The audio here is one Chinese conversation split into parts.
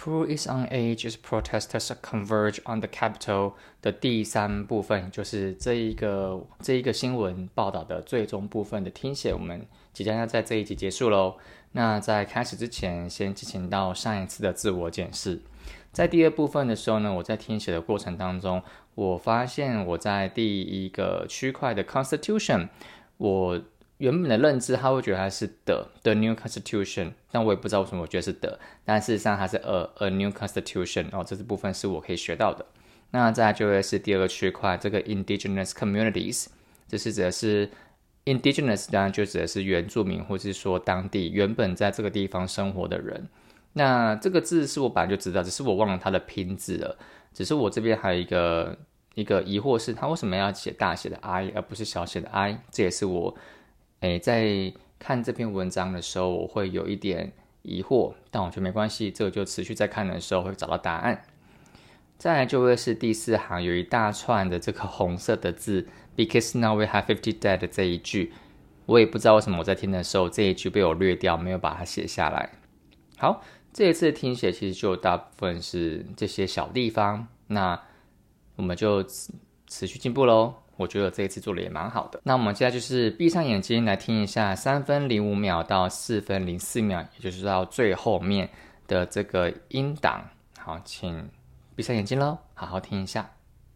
Peru is on edge as protesters converge on the Capitol 的第3部分，就是这一个新闻报道的最终部分的听写，我们即将要在这一集结束咯。那在开始之前，先进行到上一次的自我检视。在第2部分的时候呢，我在听写的过程当中，我发现我在第1个区块的 Constitution， 我原本的认知他会觉得它是 the new constitution， 但我也不知道为什么我觉得是的，但事实上它是 a new constitution， 这部分是我可以学到的。那再来就会是第2个区块，这个 indigenous communities， 这是指的是 indigenous， 当然就指的是原住民或是说当地原本在这个地方生活的人。那这个字是我本来就知道，只是我忘了它的拼字了。只是我这边还有一个疑惑是，它为什么要写大写的 I 而不是小写的 I？ 这也是我在看这篇文章的时候我会有一点疑惑，但我觉得没关系，这个就持续在看的时候会找到答案。再来就会是第4行有一大串的这个红色的字 Because now we have 50 dead 这一句，我也不知道为什么我在听的时候这一句被我略掉，没有把它写下来。好，这一次的听写其实就大部分是这些小地方，那我们就持续进步咯。我觉得这一次做的也蛮好的。那我们现在就是闭上眼睛来听一下3分05秒到4分04秒，也就是到最后面的这个音档。好，请闭上眼睛咯，好好听一下。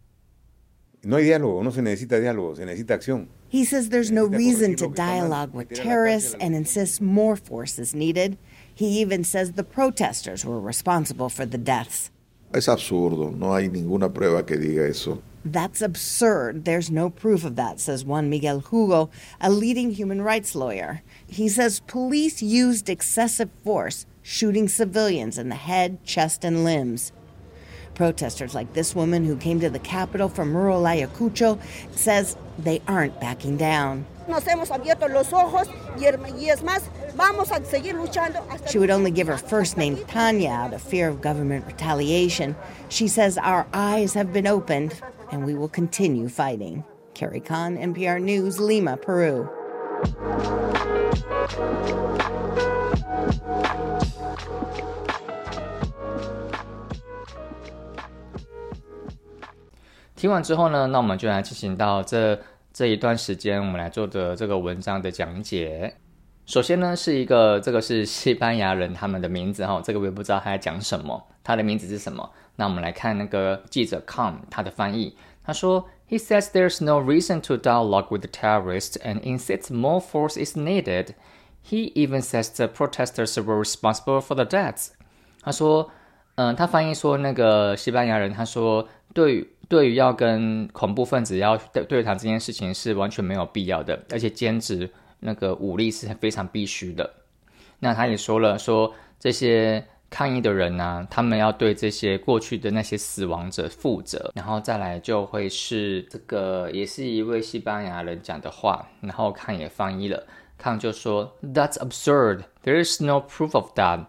No hay diálogo, no se necesita diálogo, se necesita acción. He says there's no reason to dialogue with terrorists and insists more force is needed. He even says the protesters were responsible for the deaths. Es absurdo, no hay ninguna prueba que diga eso. That's absurd. There's no proof of that, says Juan Miguel Hugo, a leading human rights lawyer. He says police used excessive force, shooting civilians in the head, chest, and limbs. Protesters like this woman who came to the Capitol from rural Ayacucho says they aren't backing down. Nos hemos abierto los ojos y es más, vamos a seguir luchando hasta... She would only give her first name Tanya out of fear of government retaliation. She says our eyes have been opened and we will continue fighting. Carrie Khan, NPR News, Lima, Peru. 听完之后呢，那我们就来进行到这一段时间我们来做的这个文章的讲解。首先呢是这个是西班牙人他们的名字，这个我也不知道他在讲什么，他的名字是什么。那我们来看那个记者 Khan 他的翻译，他说 He says there's no reason to dialogue with the terrorists and insists more force is needed. He even says the protesters were responsible for the deaths. 他说他翻译说那个西班牙人他说对于要跟恐怖分子要对谈这件事情是完全没有必要的，而且坚持那个武力是非常必须的。那他也说了，说这些抗议的人啊，他们要对这些过去的那些死亡者负责。然后再来就会是这个也是一位西班牙人讲的话，然后康也翻译了，康就说 That's absurd, there is no proof of that,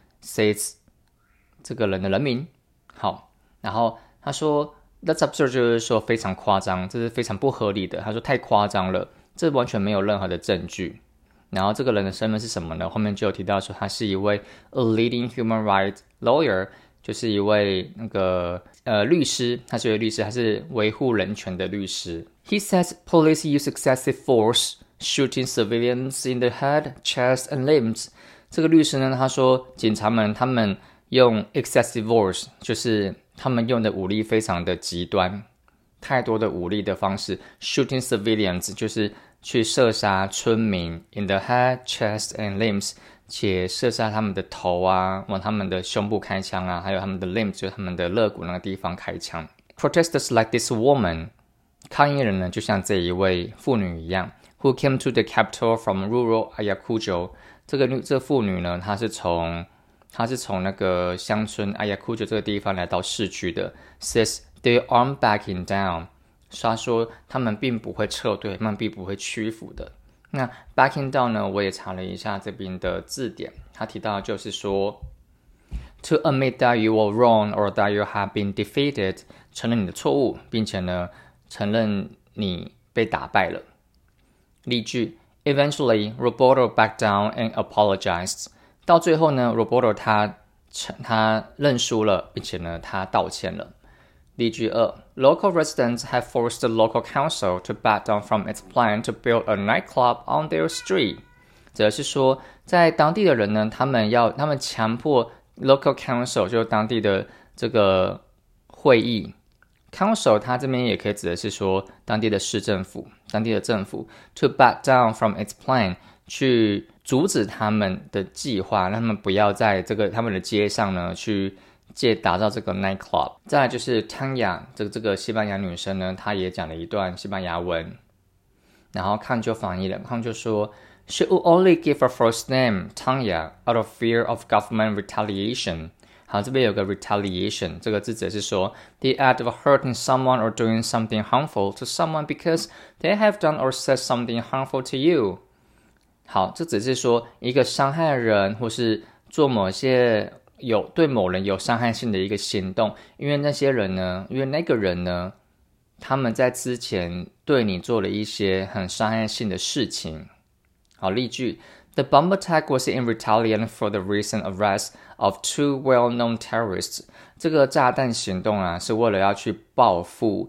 says 这个人的人名。好，然后他说That's absurd 就是说非常夸张，这是非常不合理的。他说太夸张了，这完全没有任何的证据。然后这个人的身份是什么呢？后面就有提到说他是一位 a leading human rights lawyer， 就是一位那个律师，他是一位律师，他是维护人权的律师。He says police use excessive force, shooting civilians in the head, chest and limbs. 这个律师呢，他说警察们他们用 excessive force， 就是他们用的武力非常的极端，太多的武力的方式 shooting civilians 就是去射杀村民 in the head, chest and limbs， 且射杀他们的头啊，往他们的胸部开枪啊，还有他们的 limbs 就是他们的肋骨那个地方开枪。Protesters like this woman， 抗议人呢就像这一位妇女一样 who came to the capital from rural Ayacucho。 这妇女呢，她是从那个乡村 Ayacucho 这个地方来到市区的。 says they aren't backing down， 他说他们并不会撤退，他们并不会屈服的。那 backing down 呢，我也查了一下这边的字典，他提到就是说 to admit that you were wrong or that you have been defeated， 承认你的错误，并且呢承认你被打败了。例句 Eventually Roberto backed down and apologized。 到最后呢 Roberto 他他认输了，并且呢他道歉了。例句2 Local residents have forced the local council to back down from its plan to build a nightclub on their street。 则是说在当地的人呢，他们强迫 local council 就是当地的这个会议 council 它这边也可以指的是说当地的市政府，当地的政府 to back down from its plan 去阻止他们的计划，让他们不要在他们的街上呢去打造这个 nightclub。 再来就是 Tanya 这个西班牙女生呢，她也讲了一段西班牙文，然后康就翻译了，康就说 She would only give her first name Tanya out of fear of government retaliation。 好，这边有个 retaliation 这个字指是说 the act of hurting someone or doing something harmful to someone because they have done or said something harmful to you。 好，这只是说一个伤害人或是做某些对某人有伤害性的一个行动，因为那个人呢他们在之前对你做了一些很伤害性的事情。好，例句 The bomb attack was in retaliation for the recent arrest of 2 well-known terrorists。 这个炸弹行动啊，是为了要去报复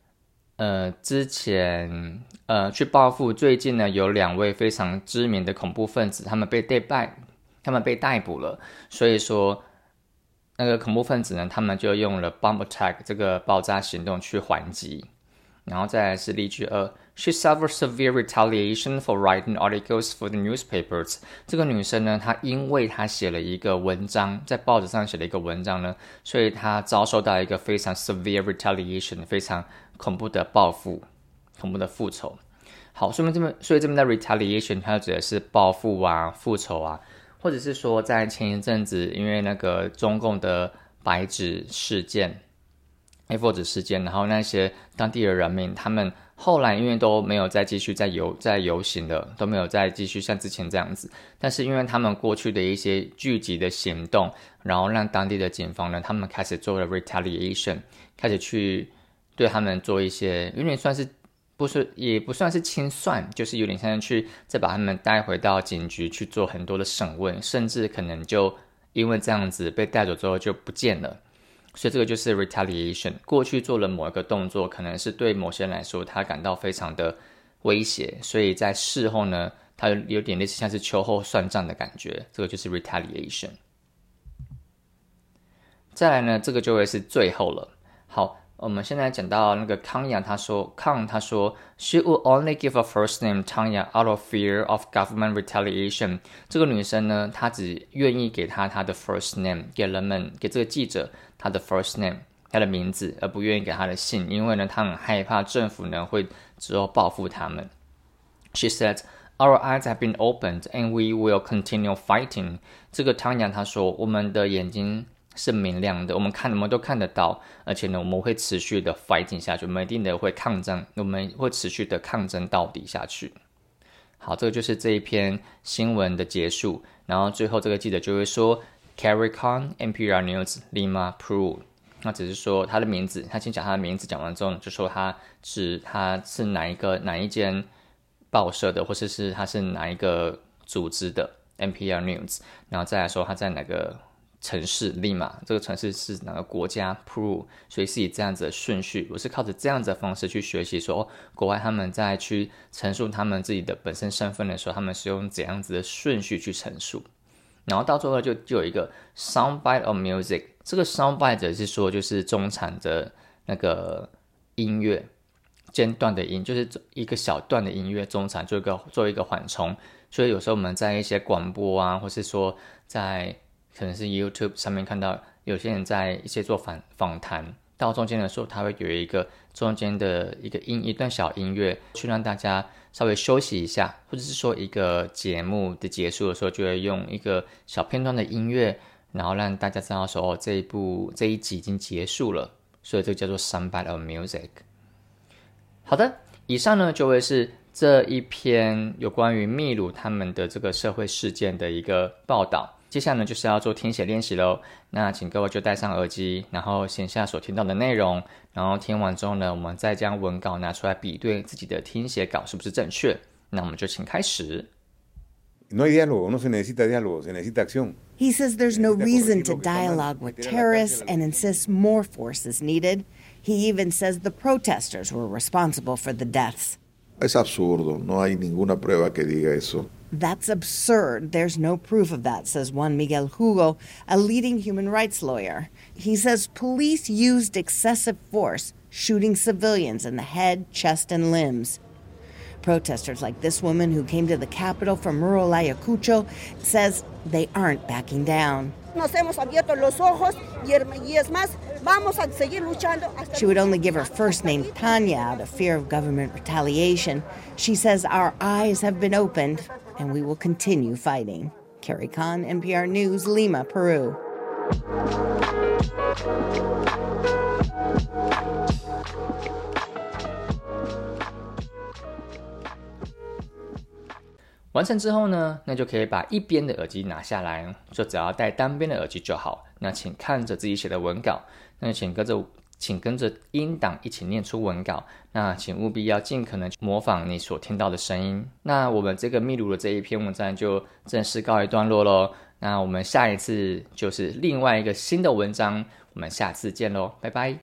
最近呢有2位非常知名的恐怖分子，他们被逮捕了，所以说那个恐怖分子呢，他们就用了 bomb attack 这个爆炸行动去还击。然后再来是例句2 She suffered severe retaliation for writing articles for the newspapers。 这个女生呢，她因为她写了一个文章，在报纸上写了一个文章呢，所以她遭受到一个非常 severe retaliation 非常恐怖的报复，恐怖的复仇。好，所以这边的 retaliation 它指的是报复啊、复仇啊，或者是说在前一阵子因为那个中共的白纸事件 A4 纸事件，然后那些当地的人民他们后来因为都没有再继续在游行了，都没有再继续像之前这样子，但是因为他们过去的一些聚集的行动，然后让当地的警方呢，他们开始做了 retaliation， 开始去对他们做一些有点算是也不算是清算，就是有点像去再把他们带回到警局去做很多的审问，甚至可能就因为这样子被带走之后就不见了。所以这个就是 retaliation， 过去做了某一个动作，可能是对某些人来说他感到非常的威胁，所以在事后呢，他有点类似像是秋后算账的感觉，这个就是 retaliation。 再来呢，这个就会是最后了。好，我们现在讲到那个康他说 She would only give her first name Tanya out of fear of government retaliation。 这个女生呢，她只愿意给她的 first name， 给这个记者她的 first name， 她的名字，而不愿意给她的姓，因为呢，她很害怕政府呢会之后报复他们。She said, Our eyes have been opened and we will continue fighting。 这个Tanya她说，我们的眼睛是明亮的，我们都看得到，而且呢，我们会持续的 fighting 下去，我们一定的会抗争，我们会持续的抗争到底下去。好，这个就是这一篇新闻的结束。然后最后这个记者就会说 Carrie Khan, NPR News, Lima, Peru。 那只是说他的名字，他先讲他的名字，讲完之后就说他是哪一间报社的，或者是他是哪一个组织的 NPR News， 然后再来说他在哪个城市利马，这个城市是哪个国家 Peru， 所以是以这样子的顺序，我是靠着这样子的方式去学习说，国外他们在去陈述他们自己的本身身份的时候，他们是用怎样子的顺序去陈述。然后到最后就有一个 soundbite of music， 这个 soundbite 是说就是中产的那个音乐，间断的音，就是一个小段的音乐，中产做一个缓冲。所以有时候我们在一些广播啊，或是说在可能是 YouTube 上面看到有些人在一些做访谈，到中间的时候他会有一个中间的一段小音乐，去让大家稍微休息一下，或者是说一个节目的结束的时候就会用一个小片段的音乐，然后让大家知道说这一集已经结束了，所以这个叫做 soundbite of music。 好的，以上呢就会是这一篇有关于秘鲁他们的这个社会事件的一个报道。接下来呢就是要做听写练习咯，那请各位就戴上耳机，然后写下所听到的内容，然后听完之后呢，我们再将文稿拿出来比对自己的听写稿是不是正确。那我们就请开始。 No hay diálogo, no se necesita diálogo, se necesita acción. He says there's no reason to dialogue with terrorists and insists more force is needed. He even says the protesters were responsible for the deaths. Es absurdo, no hay ninguna prueba que diga eso. That's absurd. There's no proof of that, says Juan Miguel Hugo, a leading human rights lawyer. He says police used excessive force, shooting civilians in the head, chest, and limbs. Protesters like this woman who came to the capital from rural Ayacucho says they aren't backing down. Nos hemos abierto los ojos y es más, vamos a seguir luchando hasta... She would only give her first name Tanya out of fear of government retaliation. She says our eyes have been opened and we will continue fighting. Carrie Khan, NPR News, Lima, Peru. 完成之后呢，那就可以把一边的耳机拿下来，就只要戴单边的耳机就好。那请看着自己写的文稿，那请跟着音档一起念出文稿。那请务必要尽可能模仿你所听到的声音。那我们这个秘鲁的这一篇文章就正式告一段落咯。那我们下一次就是另外一个新的文章，我们下次见咯，拜拜。